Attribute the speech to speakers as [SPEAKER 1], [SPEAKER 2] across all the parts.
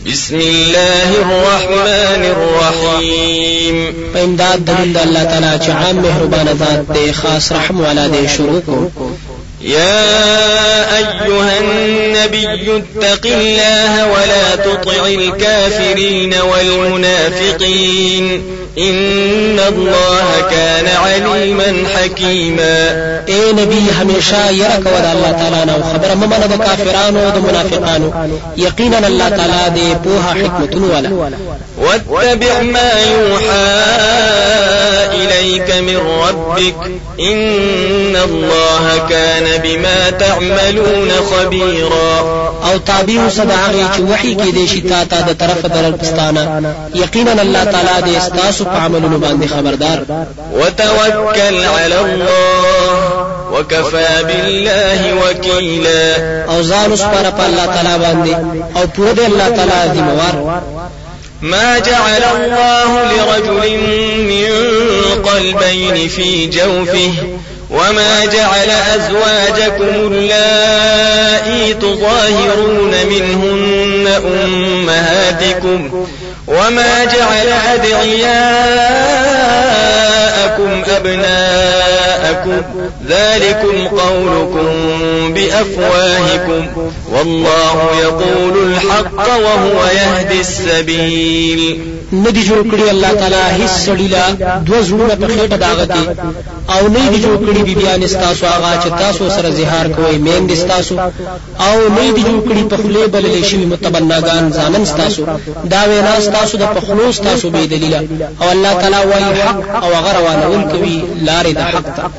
[SPEAKER 1] بسم الله الرحمن الرحيم.
[SPEAKER 2] فإمداد دلند الله تعالى چې عام مهربان ذات دی خاص رحم والا دی. شروع کو
[SPEAKER 1] يا أيها النبي اتق الله ولا تطع الكافرين والمنافقين إن الله كان عليما حكيما.
[SPEAKER 2] اے نبی ہمیشہ یرا کو الله تعالی نو خبر ممنه د کافرانو او د منافقانو یقینا الله تعالی دې په حکمتونو والا.
[SPEAKER 1] واتبع ما يوحى إليك من ربك إن الله كان بما تعملون خبيرا.
[SPEAKER 2] او تابع صداغي چې وحي کې دې شتا ته د طرف درپستانه یقینا الله تعالی دې استاسو په عملونو باندې خبردار.
[SPEAKER 1] وتوكل على الله وكفى بالله وكيلا.
[SPEAKER 2] او ځان سپاره په الله تعالی باندې او پوره دې الله تعالی ذمہوار.
[SPEAKER 1] ما جعل الله لرجل من قلبين في جوفه وما جعل أزواجكم اللائي تظاهرون منهن أمهاتكم وما جعل أدعياءكم أبناءكم ذلكم قولكم بأفواهكم والله يقول الحق وهو يهدي السبيل.
[SPEAKER 2] ندی جوړ کړی الله تعالی هیڅ سړیلا دو زړونه په خېټه داغته او نه دی جوړ کړی بیان استاسو هغه چې تاسو سره زهار کوي مین استاسو او نه دی جوړ کړی په خله بللې شي متبناګان ځانن استاسو دا وینا استاسو د پخلو استاسو به دلیل او الله تعالی وايي حق او هغه روانول کوي لارې د حق ته.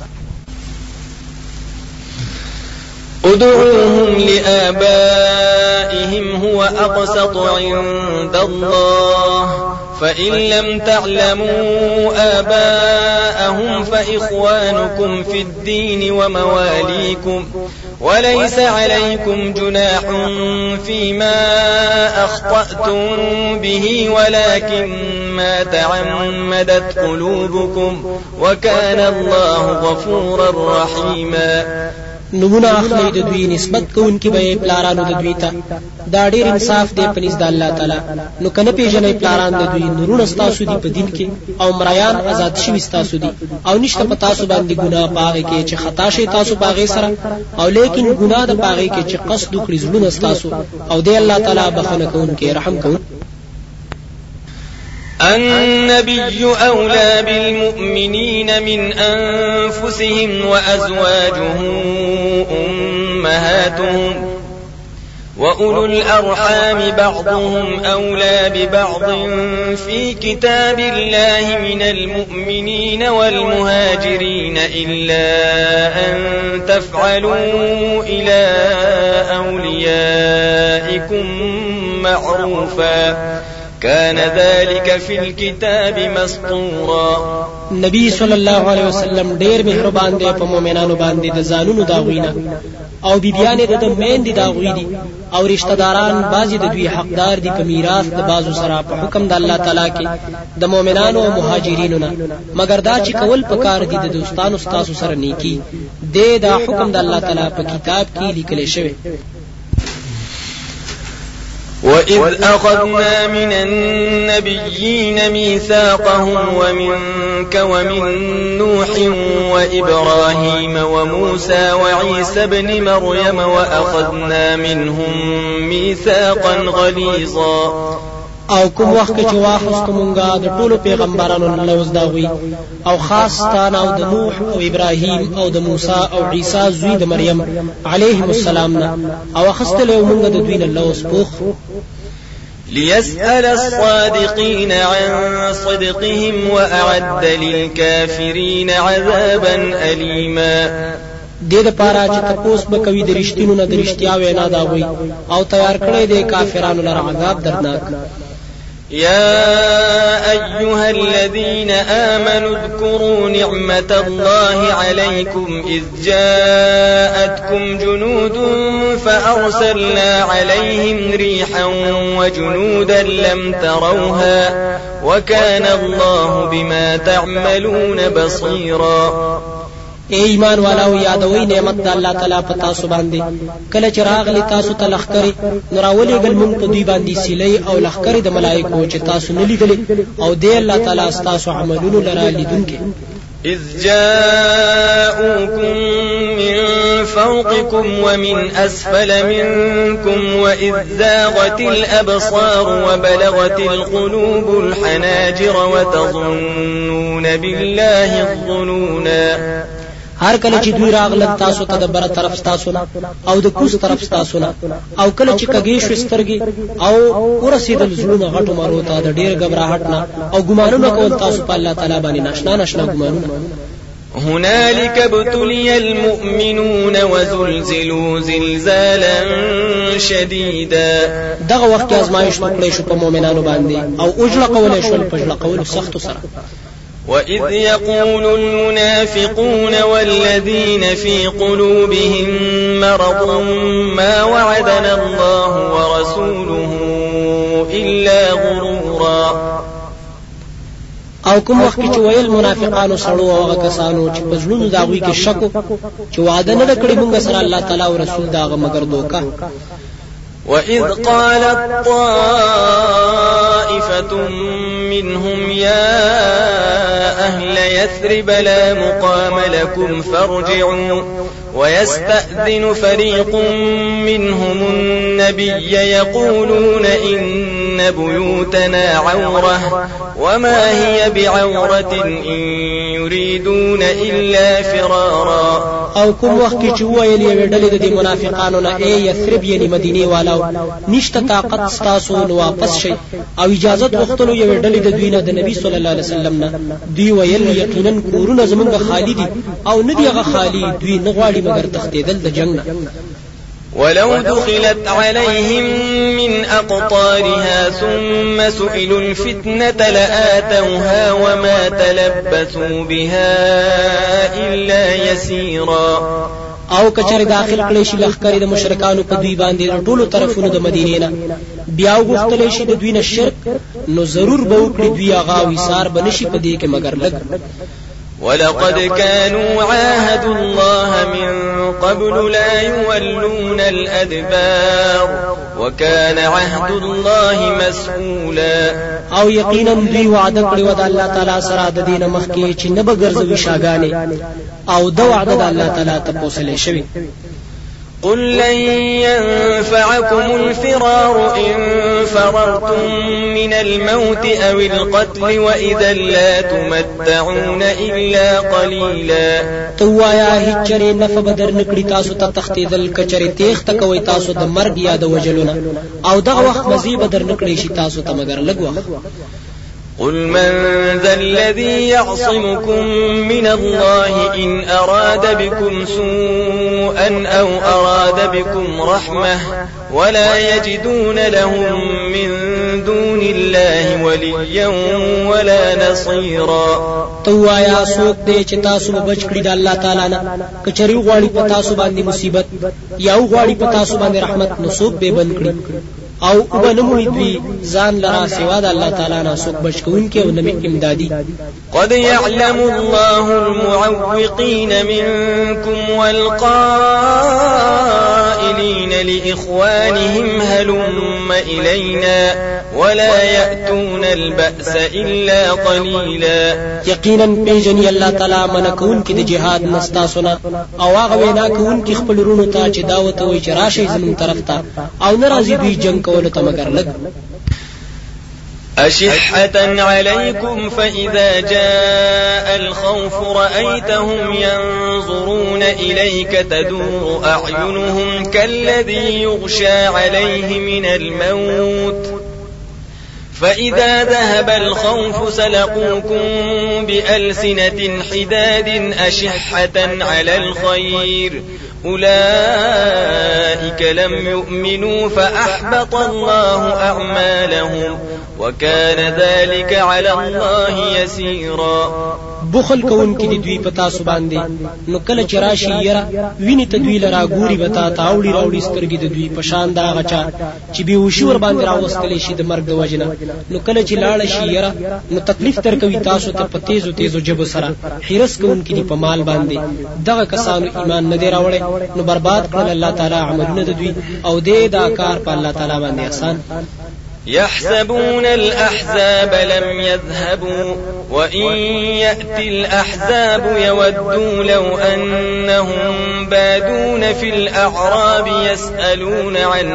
[SPEAKER 1] ادعوهم لآبائهم هو أقسط عند الله فإن لم تعلموا آباءهم فإخوانكم في الدين ومواليكم وليس عليكم جناح فيما أخطأتم به ولكن ما تعمدت قلوبكم وكان الله غفورا رحيما.
[SPEAKER 2] نمونه اخلي د دوی نسبت کوونکی به پلارانو د دوی ته دا ډیر انصاف دی پنځ د الله تعالی. نو کنه پیژنې پلاران د دوی نورونه ستاسو دی په دین کې او مریان آزاد شوي ستاسو دی او نشته په تاسو باندې ګناه پاغه کې چې خطا شي تاسو پاغه سره او لیکن ګناه د پاغه کې چې قصد وکړي زړونه ستاسو او دی الله تعالی بخنه کوونکی رحم کوونکی.
[SPEAKER 1] النبي أولى بالمؤمنين من أنفسهم وأزواجه أمهاتهم وأولو الأرحام بعضهم أولى ببعض في كتاب الله من المؤمنين والمهاجرين إلا أن تفعلوا إلى أوليائكم معروفا كان ذلك في الكتاب مسطورا.
[SPEAKER 2] نبی صلی الله علیه وسلم ډیر مهربان دی په مؤمنانو باندې د ځانونو داغوینه او بیبیانې د مین دي داغوی دي او رشتہ داران بعضی د دوی حقدار دي په میراث د بازو سره په حکم د الله تعالی کې د مؤمنانو او مهاجرینو نه مگر دا چې کول پکار دي د دوستانو ستاسو سره نیکی د دا حکم د الله تعالی په کتاب کې لیکل شوی.
[SPEAKER 1] وَإِذْ أَخَذْنَا مِنَ النَّبِيِّينَ مِيثَاقَهُمْ وَمِنكَ وَمِن نُّوحٍ وَإِبْرَاهِيمَ وَمُوسَى وَعِيسَى ابْنِ مَرْيَمَ وَأَخَذْنَا مِنْهُم مِّيثَاقًا غَلِيظًا.
[SPEAKER 2] او کوم وخت چې واخستو مونږه د ټولو پیغمبرانو لوز داوي او خاص ستان او د نوح او ابراهیم او د موسی او عیسی زوی د مریم علیهم السلام نه او اخستلو مونږه د دوی لوز پوخ
[SPEAKER 1] ليسأل الصادقين عن صدقهم وأعد للكافرين عذابا أليما.
[SPEAKER 2] دې د پاره چې تاسو به کوي د رښتینو نه د رښتیا وینا داوي او تیار کړی دی کافرانو لپاره عذاب دردناک.
[SPEAKER 1] يا أيها الذين آمنوا اذكروا نعمة الله عليكم إذ جاءتكم جنود فأرسلنا عليهم ريحا وجنودا لم تروها وكان الله بما تعملون بصيرا.
[SPEAKER 2] اے ایمان والاو یادوي نعمت د الله تعالی په تاسو باندې کله چې راغلی تاسو ته لخرې نراولې ګل مونږ په دوی باندې سیلې او لخرې د ملائکو چې تاسو نه لیدلې او دی الله تعالی تاسو عملونو لرا لیدونکي
[SPEAKER 1] إذ جاءوكم من فوقكم ومن أسفل منكم وإذ زاغت الأبصار وبلغت القلوب الحناجر وتظنون بالله الظنونا
[SPEAKER 2] هر کله چې دوی راغلل تاسو ته د بره طرف تاسو نه او د کوس طرف تاسو نه او کله چې کګې شو سترګې او ورسېدل زړونه غټو مارو ته د ډېر غبرهټ نه او ګمانونه کول تاسو په الله تعالی باندې ناشنا ګمانونه
[SPEAKER 1] هنالك ابتلي المؤمنون وزلزلوا زلزالا شديدا
[SPEAKER 2] دغه وخت ازمایښت وکړې شو په مؤمنانو باندې او اوجله قول شو په اوجله قول سخت سره
[SPEAKER 1] وإذ يقول المنافقون والذين في قلوبهم مرض ما وعدنا الله ورسوله إلا غرورا
[SPEAKER 2] او کوم وخت چې ویل منافقانو سړو او هغه کسانو چې په ځلونو داوی کې شک چې وعده نه کړی مونږ سره الله تعالی او رسول داغه مگر دوکا
[SPEAKER 1] وإذ قالت طائفة منهم يا أهل يثرب لا مقام لكم فارجعوا ويستأذن فريق منهم النبي يقولون إن بيوتنا عورة وما هي بعورة إن يريدون إلا فرارا
[SPEAKER 2] او کوم وخت چې ویل یې ډلې د منافقانو نه ای یثرب یعنی مدینه والو نشته طاقت تاسو نو واپس شي او اجازه غوښتلو یې ډلې د دوی نه د نبی صلی الله علیه وسلم نه دوی ویل یقینا کورونه زمونږ خالی دي او نه دی هغه خالی دوی نه غواړي مگر تختیدل د جنگ نه
[SPEAKER 1] ولو دخلت عليهم من أقطارها ثم سئلوا الفتنة لآتوها وما تلبثوا بها إلا يسيرا
[SPEAKER 2] او کچره داخل کړي شي لخرې د مشرکانو په دوی باندې ټولو طرفونو د مدینې نه بیا وغوښتل شي د دوی نه شرک نو ضرور به وکړي دوی هغه وسار بنشي په دې کې مگر لګ
[SPEAKER 1] ولقد كانوا عاهدوا الله من قبل لا يولون الأدبار وكان عهد الله مسؤولا
[SPEAKER 2] او یقینا دوی وعده کړی و د الله تعالی سره د دین مخکې چې نه به ګرځوي شاګانې او د وعده د الله تعالی ته پوسلې شوی
[SPEAKER 1] قل لن ينفعكم الفرار إن فررتم من الموت أو القتل وإذا لا تمتعون إلا قليلا
[SPEAKER 2] توایا هچره نف بدر نکړی تاسو ته تختیدل کچره تیخ تکوي تاسو د مرګ یا د وجلونه او دغه وخت مزي بدر نکړی شي تاسو ته مگر لګ وخت
[SPEAKER 1] قل من ذا الذي يعصمكم من الله إن أراد بكم سوءا أو أراد بكم رحمة ولا يجدون لهم من دون الله وليا ولا نصيرا
[SPEAKER 2] توایا سوک دې چې تاسو بچ کړی د الله تعالی نه کچری غواړي په تاسو باندې مصیبت یا غواړي په تاسو باندې رحمت نو سوک به بند کړی او وبنموي دوی ځان لرا سوا د الله تعالی نه سوک بچ کوونکې او نمې امدادي
[SPEAKER 1] قد يعلم الله المعوقين منكم والقائلين لإخوانهم هلم إلينا ولا يأتون البأس إلا قليلا
[SPEAKER 2] یقینا پیژني الله تعالی منکون کې د جهاد مستاسونه او هغه وینا کوون کې خپل رونو ته چې دعوت وي چې راشي زمون طرف ته او ناراضي دوی جنگ کول ته مگر لګ
[SPEAKER 1] أشحة عليكم فإذا جاء الخوف رأيتهم ينظرون إليك تدور أعينهم كالذي يغشى عليه من الموت فإذا ذهب الخوف سلقوكم بألسنة حداد أشحة على الخير أولئك لم يؤمنوا فأحبط الله أعمالهم وكان ذلك على الله يسيرا
[SPEAKER 2] بخل کون کې دوی پتا سو باندې نو کله چې راشي یره ویني ته دوی لرا ګوري وتا تاوړي راوړي سترګې د دوی پشان دا غچا چې به وشور باندې راوستل شي د مرګ د وجنه نو کله چې لاړ شي یره نو تکلیف تر کوي تاسو ته په تیزو جبو سره حرس کون کې په مال باندې دغه کسانو ایمان نه دی راوړي نو برباد کړل الله تعالی عملونه د دوی او دې دا کار په الله تعالی باندې احسان.
[SPEAKER 1] يحسبون الأحزاب لم يذهبوا وإن يأتي الأحزاب يودوا لو أنهم بادون في الأعراب يسألون عن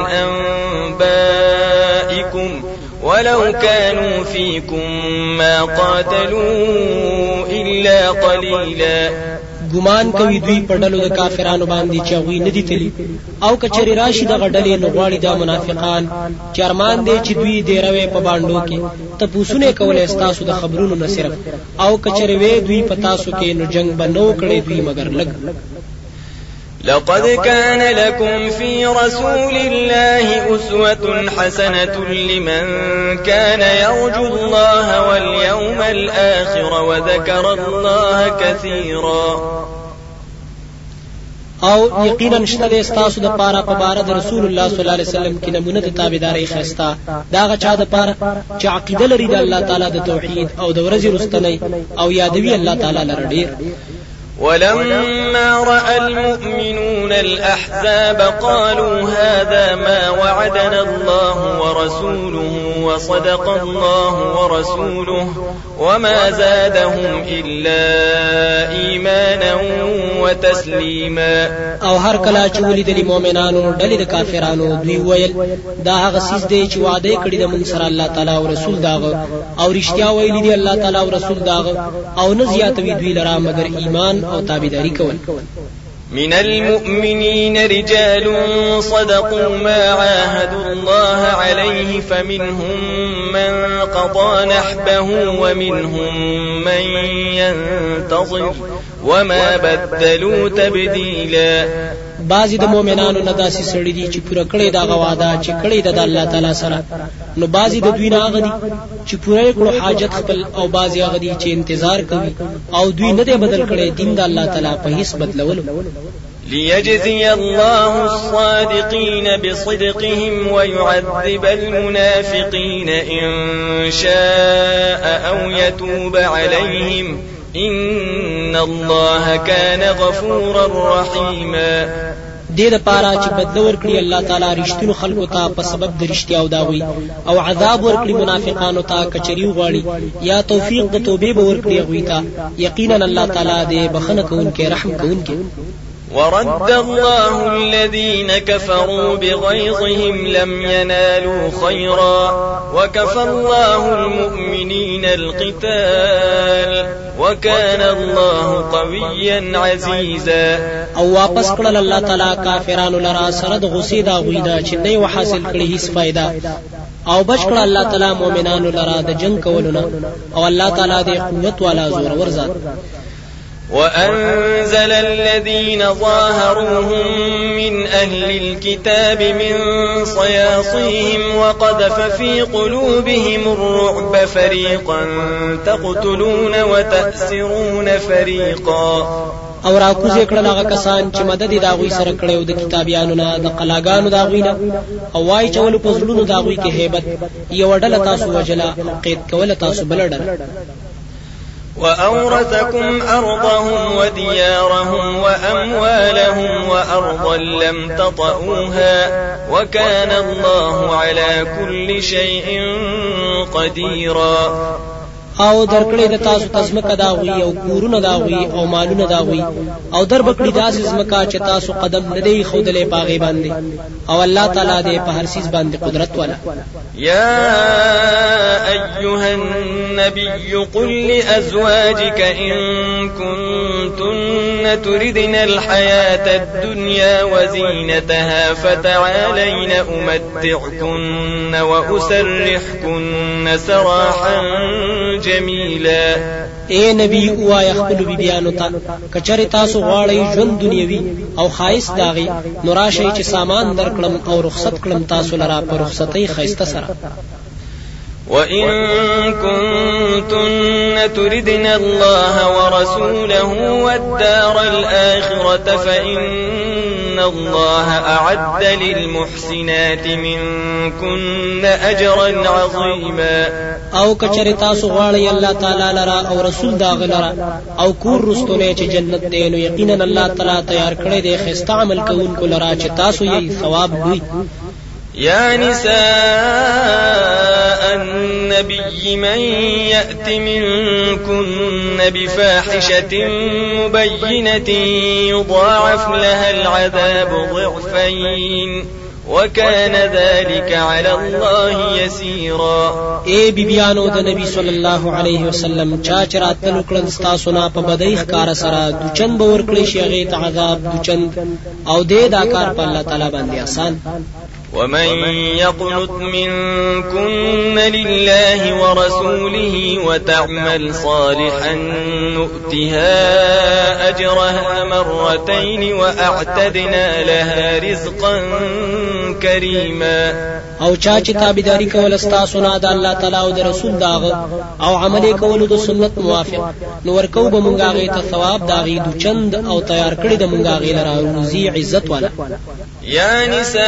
[SPEAKER 1] أنبائكم ولو كانوا فيكم ما قاتلوا إلا قليلا.
[SPEAKER 2] ګمان کوي دوی په ډلو د کافرانو باندې چې هغوی نه دي تللي او کچري راشي دغه ډلې نو غواړي دا منافقان چې ارمان دی چې دوی دې روي په باندو کې تپوسونه کولای ستاسو د خبرونو نه صرف او کچري وې دوی په تاسو کې نو جنگ بنو کړي دوی مگر لګ.
[SPEAKER 1] لقد كان لكم في رسول الله أسوة حسنة لمن كان يرجو الله واليوم الآخر وذكر الله كثيرا.
[SPEAKER 2] او یقینا شته استاسو د پاره په بار د رسول الله صلی الله علیه وسلم کې نمونه د تابعداري خستا دا غچا د پاره چې عقیده لري د الله تعالی د توحید او د ورځې رستنی او یادوي الله تعالی لره ډیر.
[SPEAKER 1] ولما رأى المؤمنون الأحزاب قالوا هذا ما وعدنا الله ورسوله وصدق الله ورسوله وما زادهم إلا إيمانا وتسليما.
[SPEAKER 2] او هر کله چې ولیدل مؤمنانو ډلې د کافرانو دوی ویل دا هغه سیس دی چې وعده کړی د من سره الله تعالی او رسول داغه او رښتیا ویلي دی الله تعالی او رسول داغه او نه زیاتوي دوی لرا مگر ایمان او تابعداري کول.
[SPEAKER 1] من المؤمنين رجال صدقوا ما عاهدوا الله عليه فمنهم من قضى نحبه ومنهم من ينتظر وما بدلوا تبديلا.
[SPEAKER 2] بعضی د مؤمنانو نه داسې سړي دي چې پوره کړی دا غواده چې کړی د الله تعالی سره نو بعضی د دوی نه هغه دي چې پوره کړو حاجت خپل او بعضی هغه دي چې انتظار کوي او دوی نه دی بدل کړي دین د الله تعالی په هیڅ بدلولو.
[SPEAKER 1] ليجزي الله الصادقين بصدقهم ويعذب المنافقين إن شاء أو يتوب عليهم إن الله كان غفورا رحيما.
[SPEAKER 2] دې د پاره چې بدل ورکړي الله تعالی رښتینو خلکو ته په سبب د رښتیا او داوي او عذاب ورکړي منافقانو ته کچري غواړي یا توفیق د توبې به ورکړي غوي ته یقینا الله تعالی دې بخنه کوونکې رحم کوونکې.
[SPEAKER 1] ورد الله الذين كفروا بغيظهم لم ينالوا خيرا وكفى الله المؤمنين القتال وكان الله قويا عزيزا.
[SPEAKER 2] او واپس کړل الله تعالی کافرانو لرا سره د غصې دا غویدا چې نه حاصل کړي هیڅ فائدہ او بچ کړل الله تعالی مؤمنانو لرا د جنگ کولونه او الله تعالی د قوت والا زور ورزاد.
[SPEAKER 1] وأنزل الذين ظاهروهم من أهل الكتاب من صياصيهم وقذف في قلوبهم الرعب فريقا تقتلون وتأسرون فريقا.
[SPEAKER 2] او راکوزه کړل هغه کسان چې مدد دا غوي سره کړو د کتابیانو نه د قلاګانو دا غوینه او وای چول په زړونو دا غوي کې hebat یو ډله تاسو وجلا قید کول تاسو بلډل.
[SPEAKER 1] وأورثكم أرضهم وديارهم وأموالهم وأرضا لم تطئوها وكان الله على كل شيء قديرا.
[SPEAKER 2] او درکړې د تاسو تزمکه دا وی او کورونه دا وی او مالونه دا وی او در بکړې داسې زمکه چې تاسو قدم نه دی خودلې پاغي باندې او الله تعالی دې په هر چیز باندې قدرت والا.
[SPEAKER 1] يا أيها النبي قل لأزواجك إن كنتن تردن الحياة الدنيا وزينتها فتعالين أمتعكن وأسرحكن سراحا جميلا.
[SPEAKER 2] اے نبی اوایا خپل بیبیانو ته کچری تاسو غواړئ ژوند دنیوي او خایس داغي نو راشئ چې سامان درکړم او رخصت کړم تاسو لرا په رخصتۍ خایسته سره.
[SPEAKER 1] وإن كنتن تردن الله ورسوله والدار الآخرة فإن الله أعد للمحسنات منكن أجرا عظيما.
[SPEAKER 2] او کچری تاسو غواړئ الله تعالی لرا او رسول داغ لرا او کور رستونه چې جنت دی، نو یقینا الله تعالی تیار کړی دی خسته عمل کوونکو لرا چې تاسو یې ثواب دوی.
[SPEAKER 1] يا نساء النبي من يأت منكن بفاحشة مبينة يضاعف لها العذاب ضعفين وكان ذلك على الله يسيرا.
[SPEAKER 2] اے بیبیانو د نبی صلی الله علیه وسلم چا چرات تلکړه تاسو نه په بدایخ کار سره دوچن باور کړی شي هغه ته عذاب دوچن او دې دا کار په الله تعالی باندې آسان.
[SPEAKER 1] ومن يقنت منكن لله ورسوله وتعمل صالحا نؤتها أجرها مرتين وأعتدنا لها رزقا كريما.
[SPEAKER 2] او چا چې تابعداري کول استاسو نه د الله تعالی او د رسول داغه او عمل کول د سنت موافق، نو ورکو به مونږه غي ته ثواب داغي دو چند او تیار کړی د مونږه غي لرا روزي عزت والا.
[SPEAKER 1] يا نساء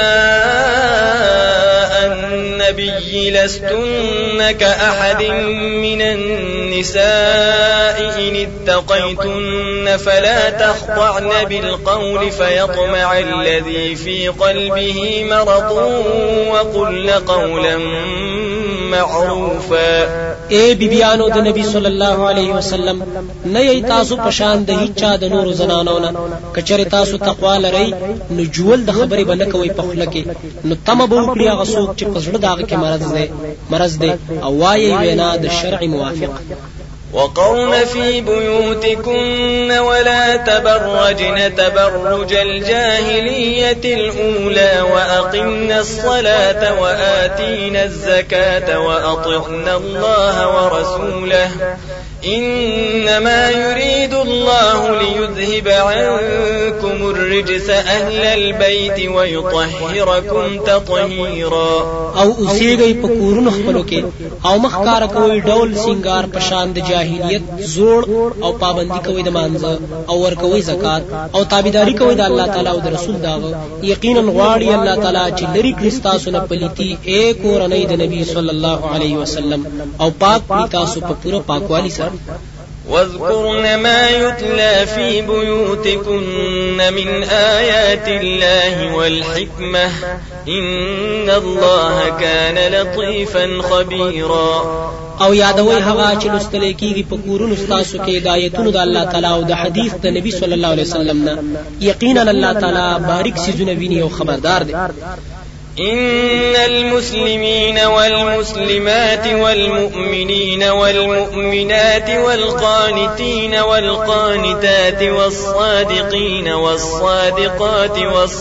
[SPEAKER 1] النبي لستن كأحد من النساء إن اتقيتن فلا تخضعن بالقول فيطمع الذي في قلبه مرض وقلن قولا معروفا.
[SPEAKER 2] اے بیبیانو د نبی صلی الله علیه وسلم نه ای تاسو پشان د هیڅ د نور زنانو نه کچره تاسو تقوا لرئ نو جول د خبرې بنه کوي په خله کې، نو تم به وکړي هغه څوک چې پزړه داغه کې مرض دی او وایي وینا د شرع موافق.
[SPEAKER 1] وقرن في بيوتكن ولا تبرجن تبرج الجاهلية الأولى وأقمن الصلاة وآتين الزكاة وأطعن الله ورسوله إنما يريد الله ليذهب عنكم الرجس أهل البيت ويطهركم تطهيرا.
[SPEAKER 2] او اوسېږئ په کورونو خپلو کې او مخکاره کوئ ډول سینګار په شان د جاهلیت زوړ او پابندي کوئ د مانځه او ورکوئ زکات او تابعداري کوئ د الله تعالی او د رسول داغه. یقینا غواړي الله تعالی چې لري کړي ستاسو نه پلیتي اے کورنۍ د نبی صلی الله علیه وسلم او پاک کړي تاسو په پوره پاکوالي سره.
[SPEAKER 1] واذكرن ما يتلى في بيوتكن من آيات الله والحكمة إن الله كان لطيفا خبيرا.
[SPEAKER 2] او یادوي هغه چې لستل کېږي په کورونو ستاسو کې د آیتونو د الله تعالی او د حدیث د نبی صلی الله علیه وسلم نه، یقینا الله تعالی باریک سيزونه ویني او خبردار دی.
[SPEAKER 1] إن المسلمين والمسلمات والمؤمنين والمؤمنات والقانتين والقانتات والصادقين والصادقات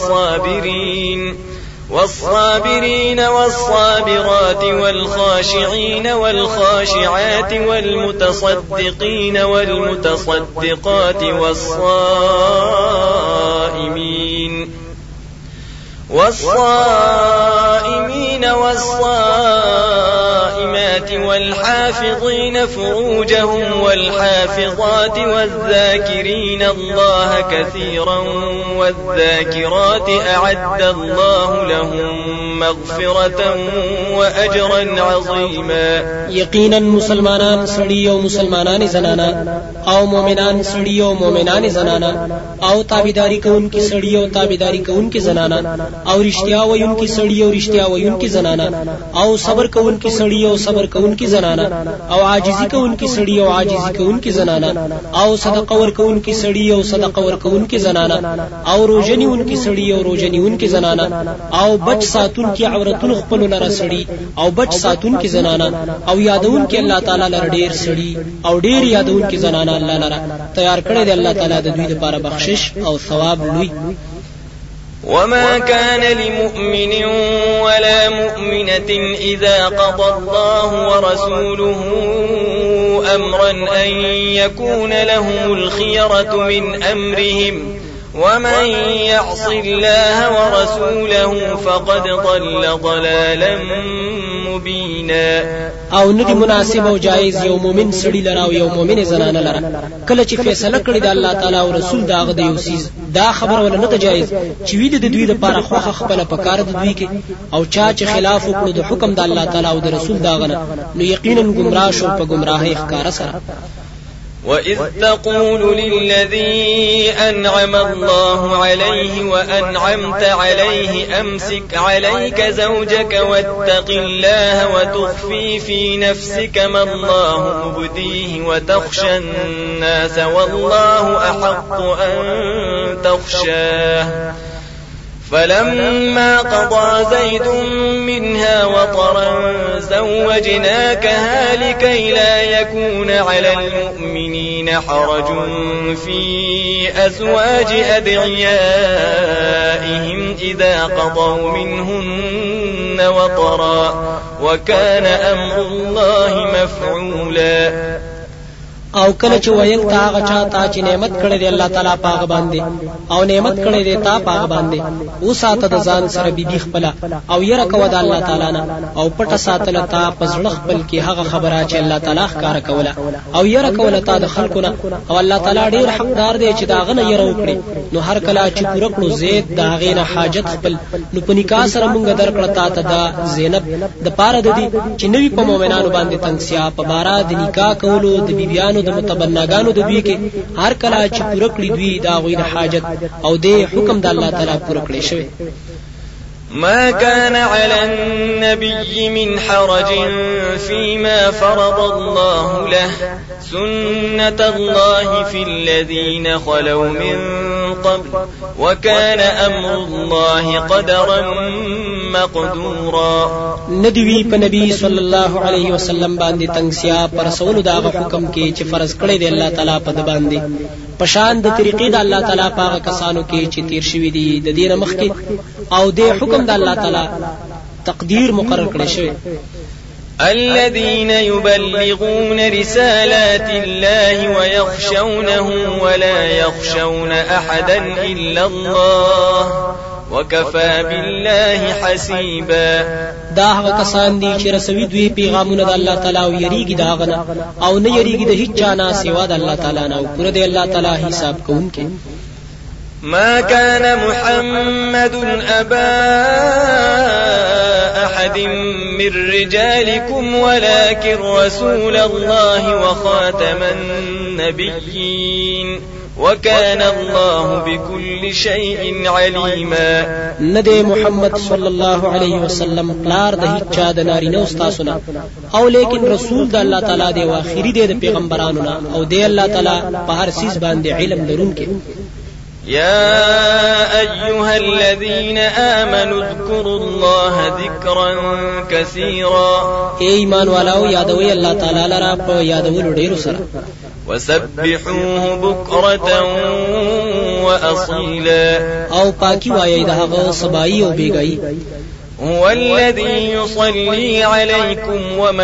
[SPEAKER 1] والصابرين والصابرات والخاشعين والخاشعات والمتصدقين والمتصدقات والصائمين والصائمات والحافظين فروجهم والحافظات والذاكرين الله كثيرا والذاكرات أعد الله لهم مغفرة وأجرا عظيما.
[SPEAKER 2] يقينا مسلمانان سړي او مسلمانان زنانا او مؤمنان سړي او مؤمنان زنانا او تابعداري کوونکي سړي او تابعداري کوونکي زنانا او رښتیا وایونکي سړي او رښتیا وایونکي زنانا او صبر کوونکي سړي او صبر کوونکي زنانا او عاجزي کوونکي سړي او عاجزي کوونکي زنانا او صدقه ورکوونکي سړي او صدقه ورکوونکي زنانا او روزنیونکي سړي او روزنیونکي زنانا او بچ ساتونکي عورتونو خپل لره سړي او بچ ساتونکي زنانا او یادونکي الله تعالی لره ډیر سړي او ډیر یادونکي زنانا الله لره تیار کړی دی الله تعالی د دوی لپاره بخشش او ثواب لوی.
[SPEAKER 1] وما كان لمؤمن ولا مؤمنة إذا قضى الله ورسوله أمرا أن يكون لهم الخيرة من أمرهم ومن يعص الله ورسوله فقد ضل ضلالا مبينا
[SPEAKER 2] او ندی مناسب او جایز یو مؤمن سړي لرا او یو مؤمن زنانه لرا کله چې فیصله کړی د الله تعالی او رسول داغه د یو سیز دا خبر ولا نه جایز چې وی د دوی لپاره خوخه خپل پکار د دوی کې او چا چې خلاف وکړو د حکم د الله تعالی او د رسول داغه نو یقینا گمراه شو په گمراهی ښکارا سره.
[SPEAKER 1] وَإِذْ تَقُولُ لِلَّذِي أَنْعَمَ اللَّهُ عَلَيْهِ وَأَنْعَمْتَ عَلَيْهِ أَمْسِكْ عَلَيْكَ زَوْجَكَ وَاتَّقِ اللَّهَ وَتُخْفِي فِي نَفْسِكَ مَا اللَّهُ مُبْدِيهِ وَتَخْشَى النَّاسَ وَاللَّهُ أَحَقُّ أَن تَخْشَاهُ فلما قضى زيد منها وطرا زوجناكها لكي لا يكون على المؤمنين حرج في أزواج أدعيائهم إذا قضوا منهن وطرا وكان أمر الله مفعولا.
[SPEAKER 2] او کله چې ویل تا هغه چاته چې نعمت کړی دی الله تعالی پاغه باندې او نعمت کړی دی تا پاغه باندې او ساته د ځان سره بيبي خپل او يره کو د الله تعالی نه او پټه ساتل تا پزړه خپل کې هغه خبره چې الله تعالی ښکارا کوله او يره کوله تا د خلکو نه او الله تعالی ډیر حقدار دی چې داغه نه يره وکړي نو هر کله چې پوره کړو زید داغه نه حاجت خپل نو په نکاح سره مونږ درکړه تا ته دا زینب د پاره د دې چې نوی په مؤمنانو باندې تنگسیا په بارا د نکاح کولو د بیبيانو د متبناګانو د دوی کې هر کله چې پوره کړی دوی دا غوی د حاجت او د حکم د الله تعالی پوره کړی شوی.
[SPEAKER 1] ما كان على النبي من حرج فيما فرض الله له سنة الله في الذين خلوا من قبل وكان أمر الله قدرا مقدورا.
[SPEAKER 2] ندوی په نبی صلی الله علیه وسلم باندې تنگسیا پر رسول دا حکم کې چې فرض کړی دی الله تعالی په د باندې پشان د طریقې د الله تعالی پاغه کسانو کې چې تیر شوی دي د دینه مخ کې او د حکم د الله تعالی تقدیر مقرر کړی شوی.
[SPEAKER 1] الذين يبلغون رسالات الله ويخشونه ولا يخشون أحدا إلا الله وكفى بالله حسيبا.
[SPEAKER 2] دا هغه کسان دي چې رسوي دوی پیغامونه د الله تعالی او یریږي دا غنه او نه یریږي د هیڅ چا نه سوا د الله تعالی نه او پر دې الله تعالی حساب کوونکی.
[SPEAKER 1] ما كان محمد أبا أحد من رجالكم ولكن رسول الله وخاتم النبيين وكان الله بكل شيء عليما.
[SPEAKER 2] ندی محمد صلی الله علیه وسلم پلار د هیڅ چا د نارینه استاسونه او لیکن رسول د الله تعالی دی او اخیری دی د پیغمبرانو نه او دی الله تعالی په هر سیس باندې علم لرونکی.
[SPEAKER 1] يا أيها الذين آمنوا اذكروا الله ذكرا كثيرا.
[SPEAKER 2] ایمان والو یادوي الله تعالی لرا په یادولو ډیرو سره
[SPEAKER 1] وسبحوه بكرة وأصيلا.
[SPEAKER 2] او پاکی وایي دغه سبای او بیګای.
[SPEAKER 1] هو الذي يصلي عليكم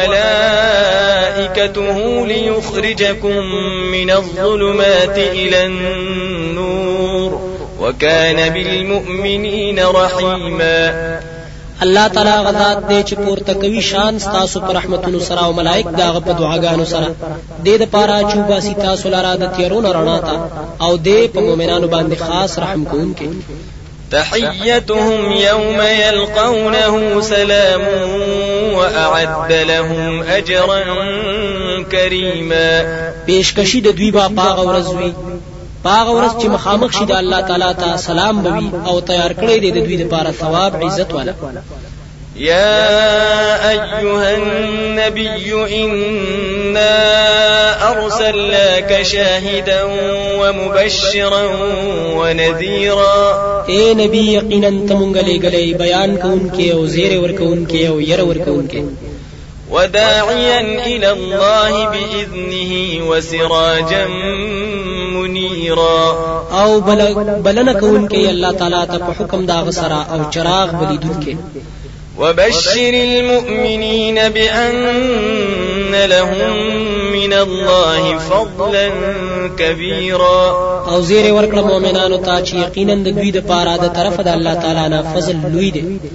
[SPEAKER 1] وملائكته ليخرجكم من الظلمات إلى النور وكان بالمؤمنين رحيما.
[SPEAKER 2] الله تعالی غذات دې چې پورته کوي شان تاسو پر رحمتونو سره او ملائک داغه په دعاګانو سره دې د پاره چوبا سي تاسو لاره د تیرونو رڼا تا او دې په مؤمنانو باندې خاص رحم کوونکی.
[SPEAKER 1] تحيتهم يوم يلقونه سلام وأعد لهم أجرا كريما.
[SPEAKER 2] پیشکشی د دوی با پاغ ورځوي پاغ ورځ چې مخامخ شي د الله تعالی ته سلام بوي او تیار کړی دی د دوی لپاره ثواب عزت والا.
[SPEAKER 1] يا أيها النبي إنا أرسلناك شاهدا ومبشرا ونذيرا.
[SPEAKER 2] اے نبی یقینا تمونګ لګلې بیان کوونکې او زیر ورکوونکې او ير ورکوونکې
[SPEAKER 1] وداعيا إلى الله بإذنه وسراجا منيرا.
[SPEAKER 2] او بلنه کوونکې الله تعالی ته په حکم دا غسرا او چراغ بلیدونکې.
[SPEAKER 1] وبشر المؤمنين بأن لهم من الله فضلا كبيرا.
[SPEAKER 2] او زیر ورکړه مؤمنانو ته چې یقینا د دوی د پاره د طرف د الله تعالی نه فضل لوی دی.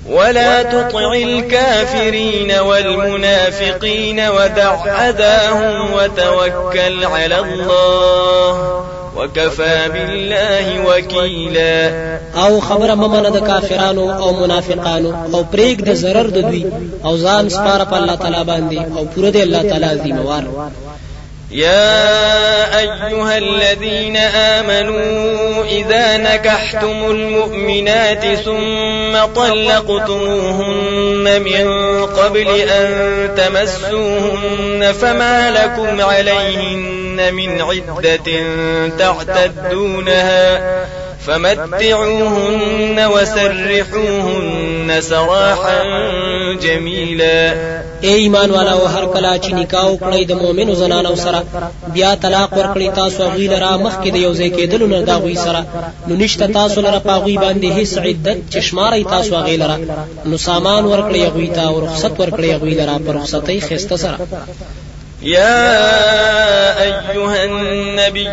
[SPEAKER 1] ولا تطع الكافرين والمنافقين ودع أذاهم وتوكل على الله وكفى بالله وكيلا.
[SPEAKER 2] او خبر ممنه د کافرانو او منافقانو او پریک د zarar د دوی او ځان سپاره په الله تعالی باندې او پوره د الله تعالی ذمہوار.
[SPEAKER 1] يا أيها الذين آمنوا إذا نكحتم المؤمنات ثم طلقتموهن من قبل أن تمسوهن فما لكم عليهن من عدة تعتدونها فمتعوهن وسرحوهن سراحا جميلا.
[SPEAKER 2] اے ایمان والا او هر کلا چې نکاح وکړي د مؤمنو زنانو سره بیا طلاق ورکړي تاسو غوی لرا مخکې د یو ځای کېدلو نه دا غوی سره نو نشته تاسو لرا پاغوی باندې هیڅ عدت چشماري تاسو غوی لرا نو سامان ورکړي غوی ته او رخصت ورکړي غوی لرا پر رخصتۍ خسته سره.
[SPEAKER 1] يا أيها النبي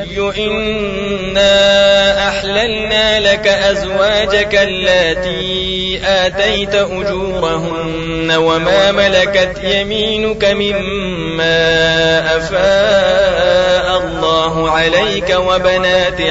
[SPEAKER 1] إنا أحللنا لك أزواجك اللاتي آتيت أجورهن وما ملكت يمينك مما أفاء الله عليك وبنات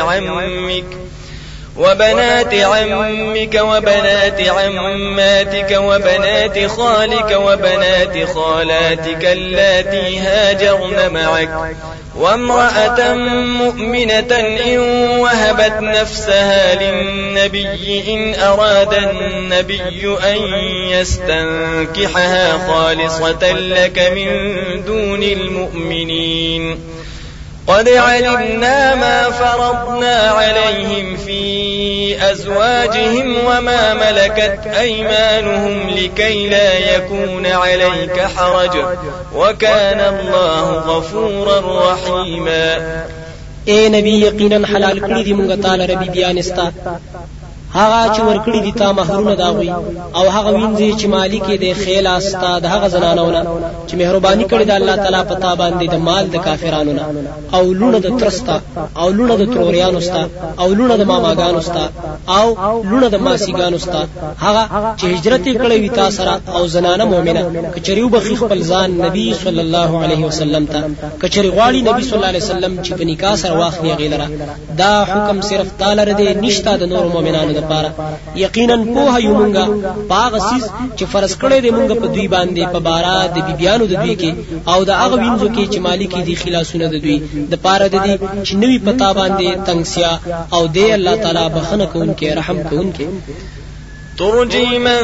[SPEAKER 1] عمك وبنات عماتك وبنات خالك وبنات خالاتك اللاتي هاجرن معك وامرأة مؤمنة إن وهبت نفسها للنبي إن أراد النبي أن يستنكحها خالصة لك من دون المؤمنين قد علمنا ما فرضنا عليهم في أزواجهم وما ملكت أيمانهم لكي لا يكون عليك حرج وكان الله غفورا رحيما.
[SPEAKER 2] اے نبی یقینا حلال کړی دی مونږ تعالی ربي بیانستا هغه چې ورکړي دي تا مہرونه داوي او هغه وینځي چې مالک دې خیل استا د هغه زنانونه چې مهرباني کړې ده الله تعالی پتا باندې د مال د کافرانو نه او لونه د ترستا او لونه د تروریانو ستا او لونه د ماماګانو ستا او لونه د ماسیګانو ستا هغه چې هجرت کړې وي تا سره او زنانه مؤمنه کچریو بخي خپل ځان نبی صلی الله علیه وسلم ته کچری غواړي نبی صلی الله علیه وسلم چې په نکاح سره واخلي غیلره دا حکم صرف تعالی ردی نشتا د نور مؤمنانو لپاره. یقینا په هیومنګا باغ سیس چې فرض کړی دی مونږ په دوی باندې په بارا د بیبيانو د دوی کې او د هغه وینځو کې چې مالکی دي خلاصونه د دوی د پاره د دي چې نوی پتا باندې تنگسیا او دی الله تعالی بخنه کوونکې رحم کوونکې.
[SPEAKER 1] ترجي من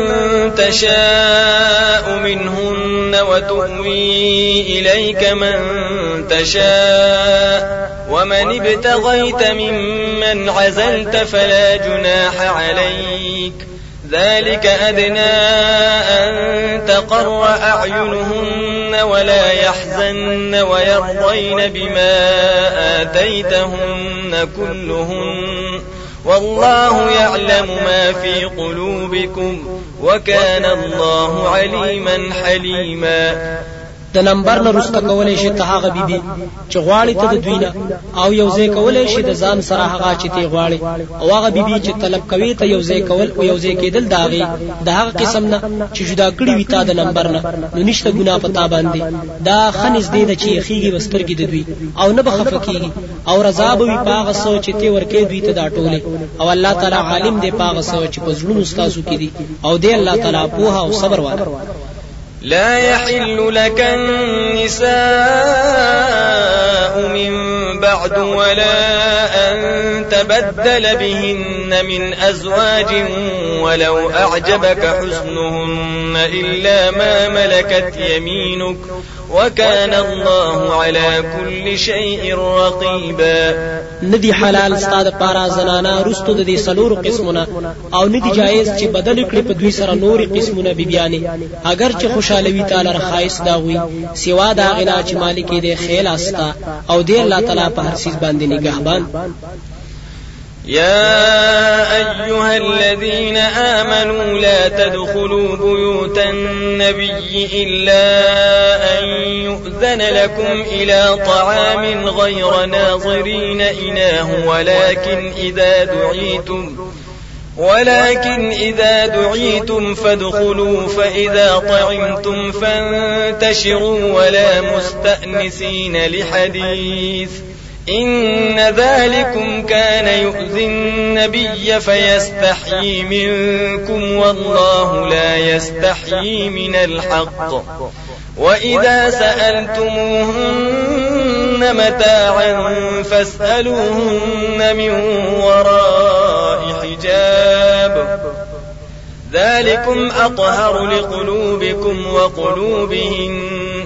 [SPEAKER 1] تشاء منهن وتؤوي إليك من تشاء ومن ابتغيت ممن عزلت فلا جناح عليك ذلك أدنى أن تقر أعينهن ولا يحزن ويرضين بما آتيتهن كلهن والله يعلم ما في قلوبكم وكان الله عليما حليما.
[SPEAKER 2] د نمبر نه رسته کولای شي ته هغه بیبي چې غواړي ته د دوینه او یو ځای کولای شي د ځان سره هغه چې ته غواړي او هغه بیبي چې طلب کوي ته یو ځای کول او یو ځای کېدل داغي د هغه قسم نه چې جدا کړی وي تا د نمبر نه نو نشته ګناه پتا باندې دا خنځ دی د چې خيږي وسترګي د دوی او نه بخفکیږي او رضا به وي پاغه سو چې ته ورکې دوی ته دا ټوله او الله تعالی عالم دی پاغه سو چې په زړونو استاسو کې دي او دی الله تعالی پوها او صبر والا.
[SPEAKER 1] لا يحل لك النساء من بعد ولا أن تبدل بهن من أزواج ولو أعجبك حسنهن إلا ما ملكت يمينك وكان الله على كل شيء رقيبا.
[SPEAKER 2] ندی حلال استاد پارا زنانا رستو د دې سلور قسمونه او ندی جایز چې بدل کړي په دوی سره نور قسمونه بیبيانې اگر چې خوشاله وي تعالی رخایس داوي سوا دا غنا چې مالک دې خیل استا او دې الله تعالی په هر چیز باندې نگهبان.
[SPEAKER 1] يا أيها الذين آمنوا لا تدخلوا بيوت النبي إلا أن يؤذن لكم إلى طعام غير ناظرين إناه ولكن إذا دعيتم فادخلوا فإذا طعمتم فانتشروا ولا مستأنسين لحديث إن ذلكم كان يؤذي النبي فيستحيي منكم والله لا يستحيي من الحق وإذا سألتموهن متاعا فاسألوهن من وراء حجاب ذلكم أطهر لقلوبكم وقلوبهن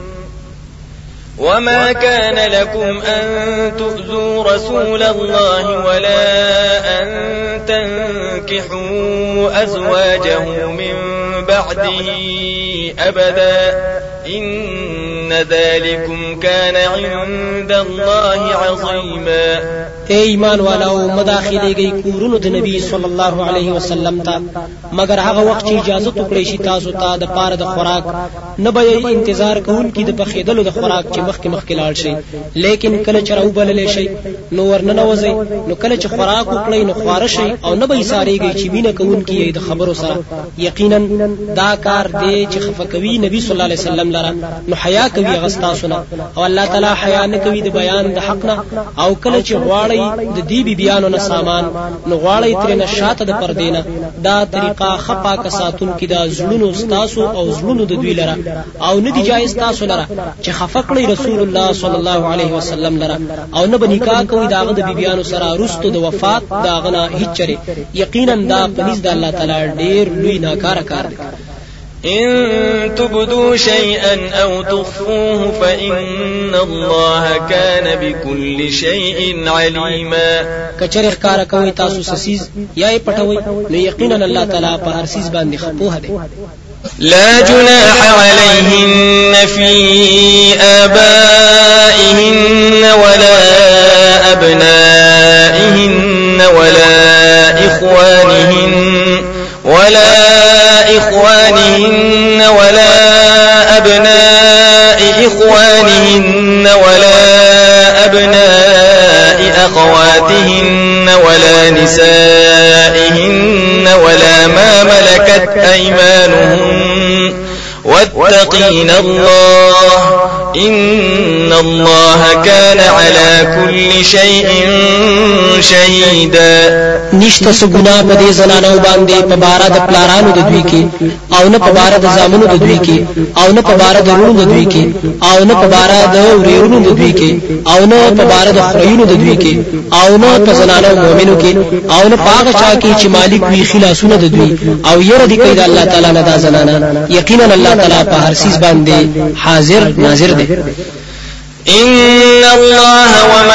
[SPEAKER 1] وما كان لكم أن تؤذوا رسول الله ولا أن تنكحوا أزواجه من بعده أبدا إن ذلكم كان عند الله عظيما.
[SPEAKER 2] اے ایمان والاو مداخله گئی کورونو د نبی صلی الله علیه وسلم ته مگر هغه وخت چې اجازه وکړي شي تاسو ته د پاره د خوراک نه به انتظار کوون کی د پخېدلو د خوراک چې مخکې لاړ شي لیکن کله چې راو بلل شي نو ورننوځي نو کله چې خوراک وکړي نو خواره شي او نه به ساريږي چې مینه کوون کی د خبرو سره یقینا دا کار دی چې خفقوي نبی صلی الله علیه وسلم لره نو حیا کوي غستا سنا او الله تعالی حیا نه کوي د بیان د حق نه او کله چې غواړي د دې بیانو نه سامان نو غواړي تر نه شاته د پردینه دا طریقه خپا کا ساتون کی دا زړونو استاسو او زړونو د دوی لره او نه دی جایز تاسو لره چې خفقلی رسول الله صلی الله علیه وسلم لره او نه بنکاح کوي داغه د بیانو سره رستو د وفات داغه نه هیڅ چره یقینا دا پنځ د الله تعالی ډیر لوی ناکاره کار دی.
[SPEAKER 1] إن تبدوا شيئا أو تخفوه فإن الله كان بكل شيء عليما.
[SPEAKER 2] کچر ښکارا کوي تاسو سسیز یا یې پټوي نو یقینا الله تعالی په هر سیز باندې خپوه دی.
[SPEAKER 1] لا جناح عليهن في آبائهن ولا أبنائهن ولا إخوانهن ولا أبناء إخوانهن ولا أبناء أخواتهن ولا نسائهن ولا ما ملكت أيمانهن واتقين الله إن الله كان على كل شيء شهيدا.
[SPEAKER 2] نشته سګنا په دې زنانو باندې په بار د پلارانو د دوی کې او نه په بار د زامنو د دوی کې او نه په بار د ورونو د دوی کې او نه په بار د ورونو د دوی کې او نه په بار د خړینو د دوی کې او نه په زنانو مؤمنو کې او نه پاغه چا کې چې مالک وی خلاصونه د دوی او ير دي کوي د الله تعالی نه دا زنانه یقینا الله تعالی په هر سیس باندې حاضر ناظر دی.
[SPEAKER 1] إن الله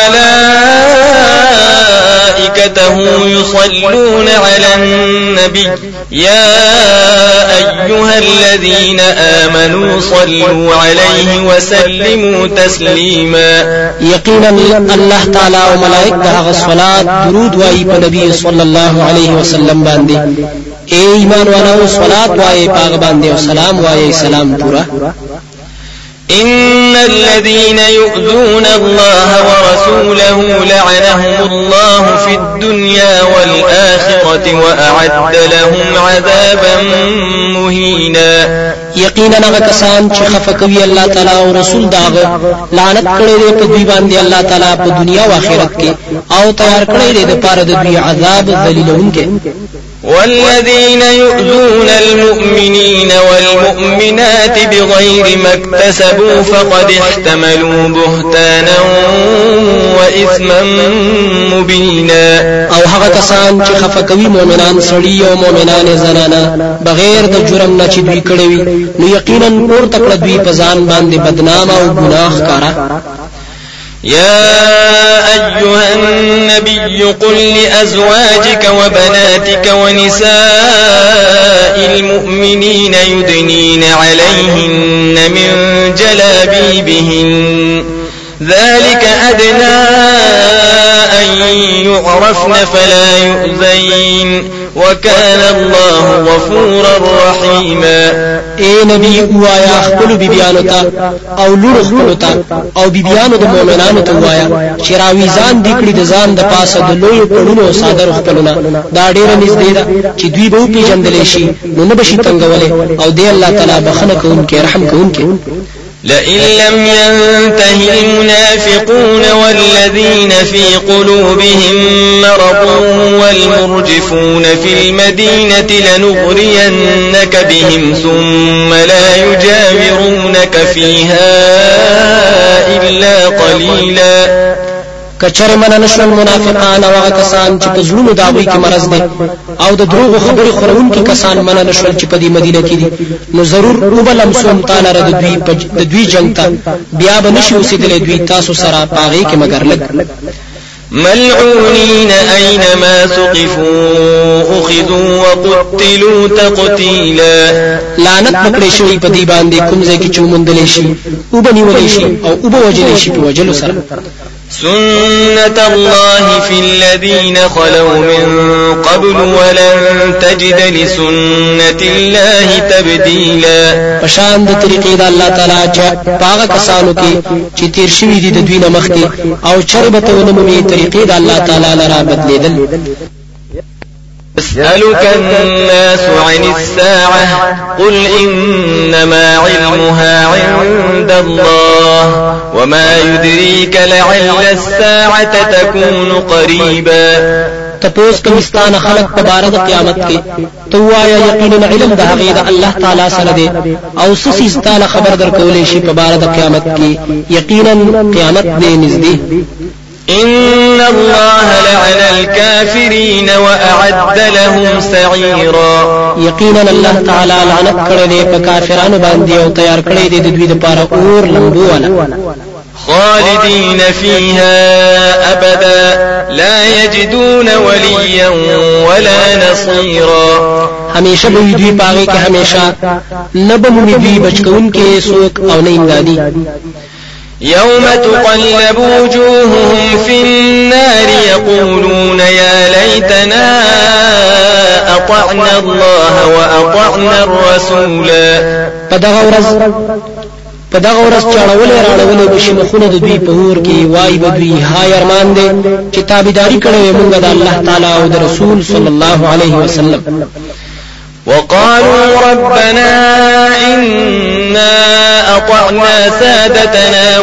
[SPEAKER 1] وملائكته يصلون على النبي يا أيها الذين آمنوا صلوا عليه وسلموا تسليما.
[SPEAKER 2] يقينا الله تعالى وملائكته الصلاة درود واي نبي صلى الله عليه وسلم باندې اے ایمان والو صلات واي پاغ باندې او سلام واي سلام پورا.
[SPEAKER 1] إن الذين يؤذون الله ورسوله لعنهم الله في الدنيا والآخرة وأعد لهم عذابا مهينا.
[SPEAKER 2] یقینا هغه کسان چې خفقوي الله تعالی او رسول داغه لعنت کړي دي په دوی باندې الله تعالی په دنیا او آخرت کې او تیار کړي دي د پاره د دوی عذاب ذلیلونکې.
[SPEAKER 1] والذين يؤذون المؤمنين والمؤمنات بغير ما اكتسبوا فقد احتملوا بهتانا وإثما مبينا.
[SPEAKER 2] او هغه کسان چې خفقوي مؤمنان سړي او مؤمنان زنانه بغیر د جرم نه چې دوی کړي وي نو یقینا پور تکړه دوی په ځان باندې بدنام او ګناه ښکارا.
[SPEAKER 1] يا أيها النبي قل لأزواجك وبناتك ونساء المؤمنين يدنين عليهن من جلابيبهن ذلك أدنى أن يعرفن فلا يؤذين وكان الله غفورا رحيما.
[SPEAKER 2] اے نبی وایا خپل بیبیانو ته او لور خپل ته او بیبیانو د مؤمنانو ته وایا چې راوي ځان دکړي د ځان د پاسه د لوی پړونو صادر خپلونه دا ډېر نږدې ده چې دوی به پیژندل شي نو نه بشي تنگولې او دی الله تعالی بخنه کوونکی رحم کوونکی.
[SPEAKER 1] لئن لم ينته المنافقون والذين في قلوبهم مرض والمرجفون في المدينة لنغرينك بهم ثم لا يجاورونك فيها إلا قليلا.
[SPEAKER 2] کچر من نشل منافقان او کسان چې په زړونو داوی کې مرز دي او د دروغ خبرې خورون کې کسان من نشل چې په دې مدینه کې دي نو ضرور وبلم سوم تعالی رد دوی جنگ ته بیا به نشي اوسېدلې دوی تاسو سره پاغي کې مگر لګ.
[SPEAKER 1] ملعونين أينما ثقفوا أخذوا وقتلوا تقتيلا.
[SPEAKER 2] لعنت پکړې شوی په دې باندې کوم ځای کې چې مونډلې شي او بنیولې شي او وبوجلې شي په وجلو سره.
[SPEAKER 1] سنة الله في الذين خلوا من قبل ولن تجد لسنة الله تبديلا.
[SPEAKER 2] پشان د طریقې د الله تعالی چې پاغه کسانو کې چې تیر شوی دي د دوی نه مخکې او چربته ونمومي طریقې د الله تعالی لرا بدلیدل.
[SPEAKER 1] يسألك الناس عن الساعة قل إنما علمها عند الله وما يدريك لعل الساعة تكون قريبا.
[SPEAKER 2] تپوس کمستان خلق په بار د قیامت کې توایا یقینا علم د هغه د الله تعالی سره دی او سسی ستاله خبر درکولې شي په بار د قیامت کې یقینا قیامت دې نږدې.
[SPEAKER 1] إن الله لعن الكافرين وأعد لهم سعيرا.
[SPEAKER 2] يقينا الله تعالى لعنت کړی دی په کافرانو باندې او تیار کړی دی د دوی لپاره اور لمبو والا.
[SPEAKER 1] خالدين فيها أبدا لا يجدون وليا ولا نصيرا.
[SPEAKER 2] همیشه به دوی پاغي کې همیشه نبم دوی بچکون کې سوک او نه امدادي.
[SPEAKER 1] يوم تقلب وجوههم في النار يقولون يا ليتنا أطعنا الله وأطعنا الرسولا. پدغه ورځ چاړولې راړولې بشي مخونه د دوی په اور کې وای بدوی هاي ارمان دي چې تابعداري کړې موږ د الله تعالی او د رسول صلی الله علیه وسلم. وقالوا ربنا إنا أطعنا سادتنا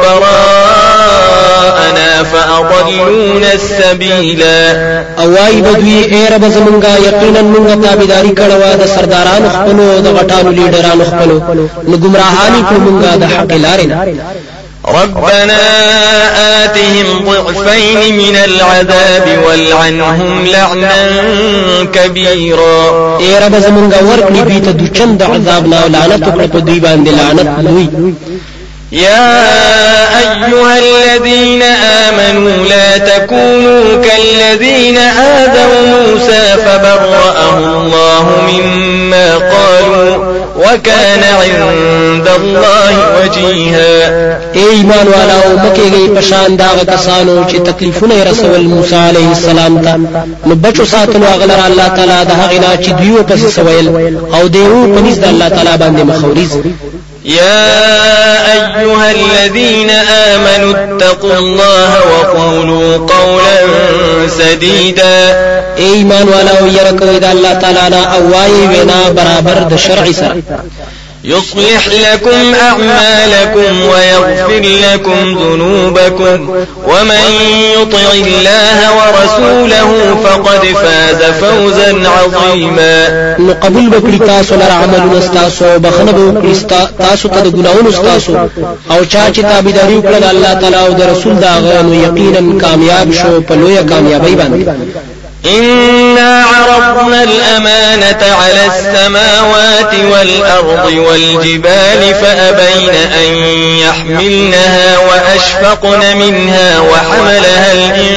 [SPEAKER 1] وكبراءنا فأضلونا السبيلا.
[SPEAKER 2] اوای بدوی اے رب زمونږه یقینا موږ تابعداري کړو د سردارانو خپلو د غټانو لیډرانو خپلو نو گمراهانی کو موږ د حق لارې نه.
[SPEAKER 1] ربنا آتهم ضعفين من العذاب والعنهم لعنا كبيرا.
[SPEAKER 2] اے رب زمونږه ورکړي دوی ته د چند عذاب نه لعنت کړ په دوی باندې لعنت لوی.
[SPEAKER 1] يا أيها الذين آمنوا لا تكونوا كالذين آذوا موسى فبرأه الله مما قالوا وكان عند الله وجيها.
[SPEAKER 2] اے ایمان والاو مکیږي پشان دا کسانو چې تکلیفونه رسول موسی علیه السلام ته نو بچو ساتلو غلر الله تعالی د هغه نه چې دیو پس سویل او دیو پنځ د الله تعالی باندې مخوريز.
[SPEAKER 1] يا أيها الذين آمنوا اتقوا الله وقولوا قولا سديدا.
[SPEAKER 2] ایمان والاو يرکو د الله تعالی نه او وای وینا برابر د شرع سره.
[SPEAKER 1] يصلح لكم أعمالكم ويغفر لكم ذنوبكم ومن يطع الله ورسوله فقد فاز فوزا عظيما.
[SPEAKER 2] قبول بکړی تاسو لپاره عملونه استاسو بخنه بکړی تاسو ته د ګناونو استاسو او چا چې تابعداري وکړه د الله تعالی او د رسول دا غو یقینا کامیاب شو په لویه کامیابی باندې.
[SPEAKER 1] إنا عرضنا الأمانة على السماوات والأرض والجبال فأبين أن يحملنها وأشفقن منها وحملها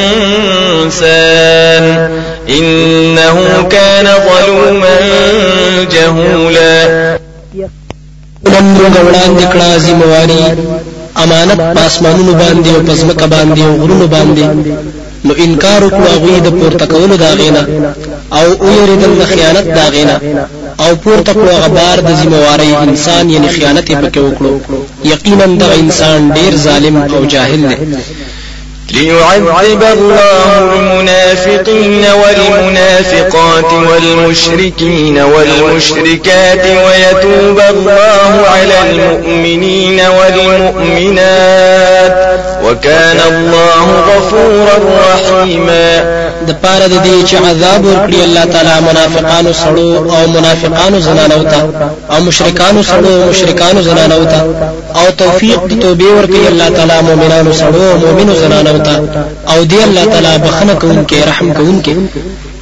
[SPEAKER 1] الإنسان إنه كان ظلوما جهولا.
[SPEAKER 2] نمرو وړاندې کړه ذمہ. واری امانت پاسمانونو باندې او پزمکه باندې او غرونو باندې او موږ یې په ډېر لوی عذاب باندې
[SPEAKER 1] نو انکار وکړو غوی د پورته کولو دا غینا او ویریدل د خیانت دا غینا او پورته کړو غبار د ذمہواری انسان یعنی خیانت پکې وکړو یقینا د انسان ډیر ظالم او جاهل دی
[SPEAKER 3] ليعذب الله المنافقين والمنافقات والمشركين والمشركات ويتوب الله على المؤمنين والمؤمنات وكان الله غفورا رحيما
[SPEAKER 1] د پاره د دې چې عذاب ورکړي الله تعالی منافقانو سړو او منافقانو زنانو ته او مشرکانو سړو او مشرکانو زنانو ته او توفیق د توبې ورکړي الله تعالی مؤمنانو سړو او مؤمنو زنانو ته او دی الله تعالی بخنه کوونکې رحم کوونکې